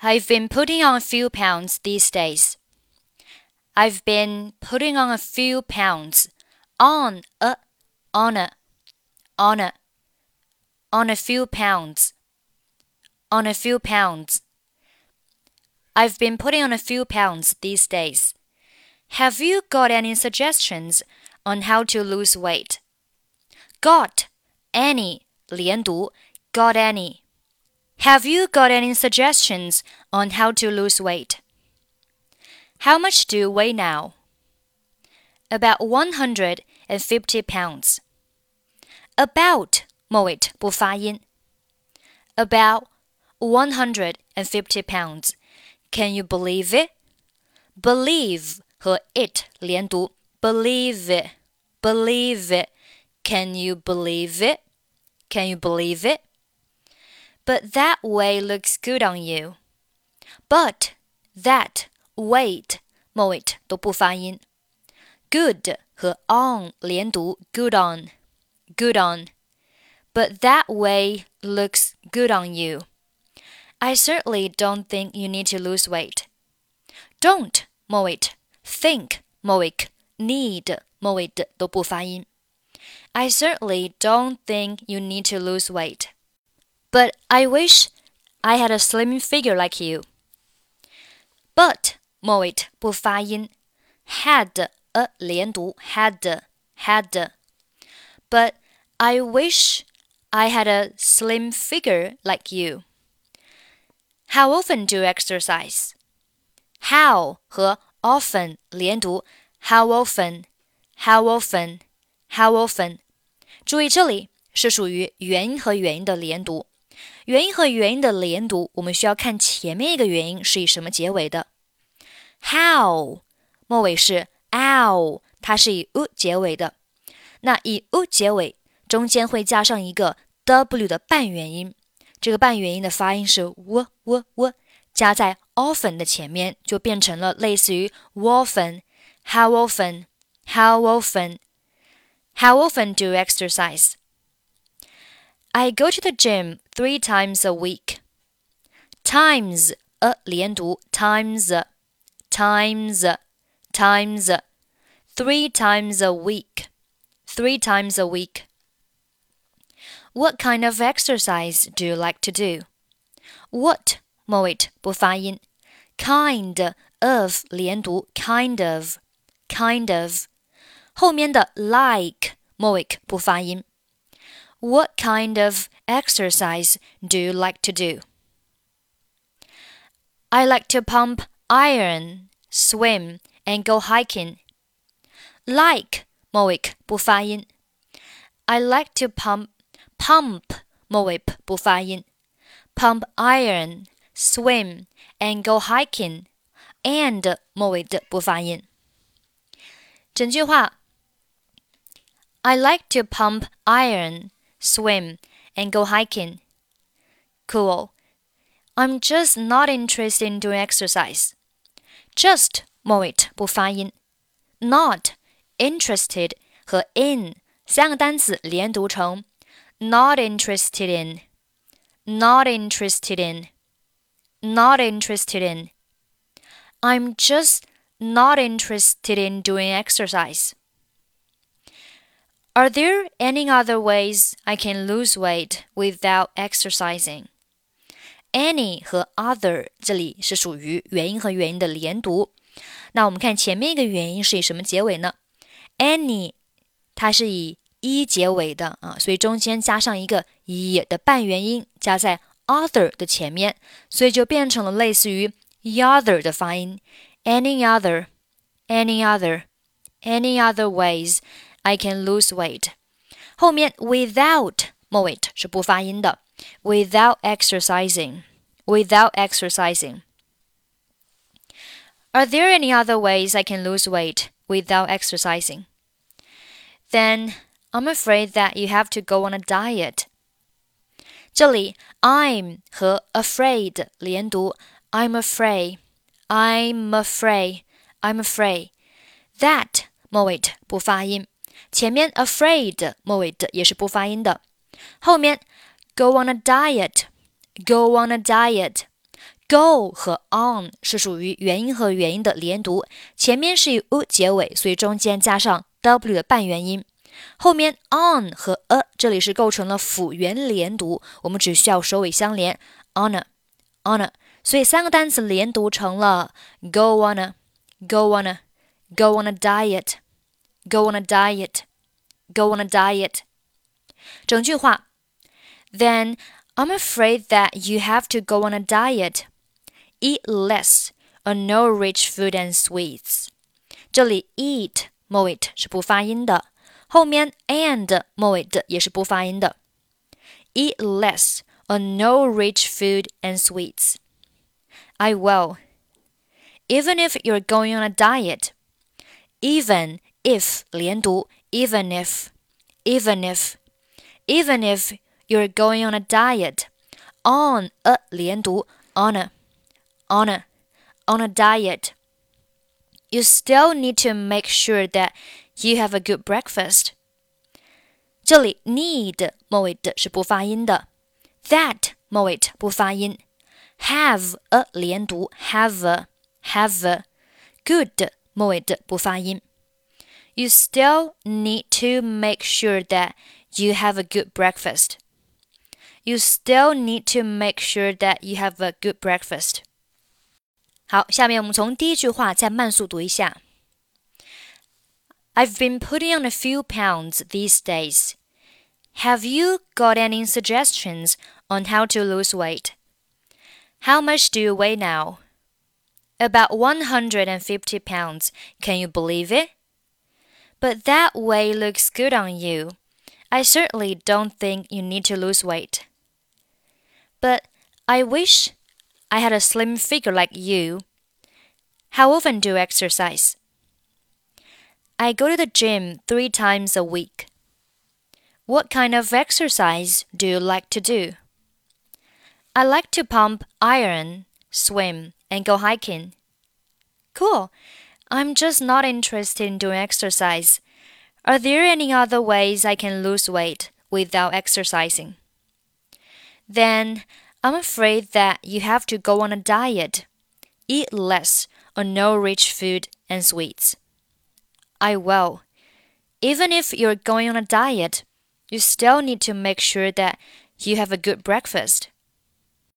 I've been putting on a few pounds these days. I've been putting on a few pounds. On a few pounds. On a few pounds. I've been putting on a few pounds these days. Have you got any suggestions on how to lose weight? Got any 连读 got any. Have you got any suggestions on how to lose weight? How much do you weigh now? About 150 pounds. About 末尾不发音。About 150 pounds. Can you believe it? Believe 和 it 连读 Believe it. Believe it. Can you believe it? Can you believe it? But that way looks good on you. But, that, weight 末尾都不发音。Good 和 on 连读 good on. Good on. But that way looks good on you. I certainly don't think you need to lose weight. Don't 末尾 think 末尾 need 末尾的都不发音。I certainly don't think you need to lose weight. But I wish I had a slim figure like you. But 末尾不发音。Had 连读 had. But I wish I had a slim figure like you. How often do you exercise? How 和 often 连读 How often? How often? How often? 注意这里是属于元音和元音的连读。元音和元音的连读，我们需要看前面一个元音是以什么结尾的。How 末尾是 ow， 它是以 u 结尾的。那以 u 结尾，中间会加上一个 w 的半元音，这个半元音的发音是 w， 加在 often 的前面，就变成了类似于 often。How often? How often? How often do you exercise? I go to the gym 3 times a week. Times 连读 times. 3 times a week. 3 times a week. What kind of exercise do you like to do? What 末尾不发音。Kind of 连读 kind of. 后面的 like 末尾不发音。What kind of exercise do you like to do? I like to pump iron, swim, and go hiking. Like 末尾不发音。I like to pump 末尾不发音。Pump iron, swim, and go hiking. And 末尾的不发音。整句话 I like to pump iron, swim, and go hiking. Cool. I'm just not interested in doing exercise. Just 末尾不发音。Not, interested 和 in 三个单词连读成 not interested in. Not interested in. Not interested in. I'm just not interested in doing exercise. Are there any other ways I can lose weight without exercising? Any 和 other 这里是属于元音和元音的连读。那我们看前面一个元音是以什么结尾呢？ Any 它是以 一结尾的所以中间加上一个 也 的半元音加在 other 的前面，所以就变成了类似于 other 的发音。Any other ways I can lose weight. 后面 without 末尾是不发音的。Without exercising. Are there any other ways I can lose weight without exercising? Then I'm afraid that you have to go on a diet. 这里 I'm 和 afraid 连读 I'm afraid. That 末尾不发音，前面 afraid 末尾的也是不发音的。后面 go on a diet. Go 和 on 是属于元音和元音的连读，前面是以 u 结尾，所以中间加上 w 的半元音。后面 on 和 这里是构成了辅元连读，我们只需要首尾相连 honor， 所以三个单词连读成了 go on a diet go on a diet go on a diet。 整句话 Then I'm afraid that you have to go on a diet. Eat less or no rich food and sweets. 这里 eat 末尾是不发音的，后面 and 末尾的也是不发音的。Eat less or no rich food and sweets. I will. Even if you're going on a diet. Even if 连读 even if you're going on a diet. On a 连读 on a diet. You still need to make sure that you have a good breakfast. 这里 need 末尾的是不发音的， that 末尾不发音， have a 连读 have good 末尾的不发音。You still need to make sure that you have a good breakfast. You still need to make sure that you have a good breakfast. 好，下面我们从第一句话再慢速读一下。I've been putting on a few pounds these days. Have you got any suggestions on how to lose weight? How much do you weigh now? About 150 pounds. Can you believe it? But that way looks good on you. I certainly don't think you need to lose weight. But I wish I had a slim figure like you. How often do you exercise? I go to the gym 3 times a week. What kind of exercise do you like to do? I like to pump iron, swim, and go hiking. Cool. I'm just not interested in doing exercise. Are there any other ways I can lose weight without exercising? Then I'm afraid that you have to go on a diet. Eat less or no rich food and sweets. I will. Even if you're going on a diet, you still need to make sure that you have a good breakfast.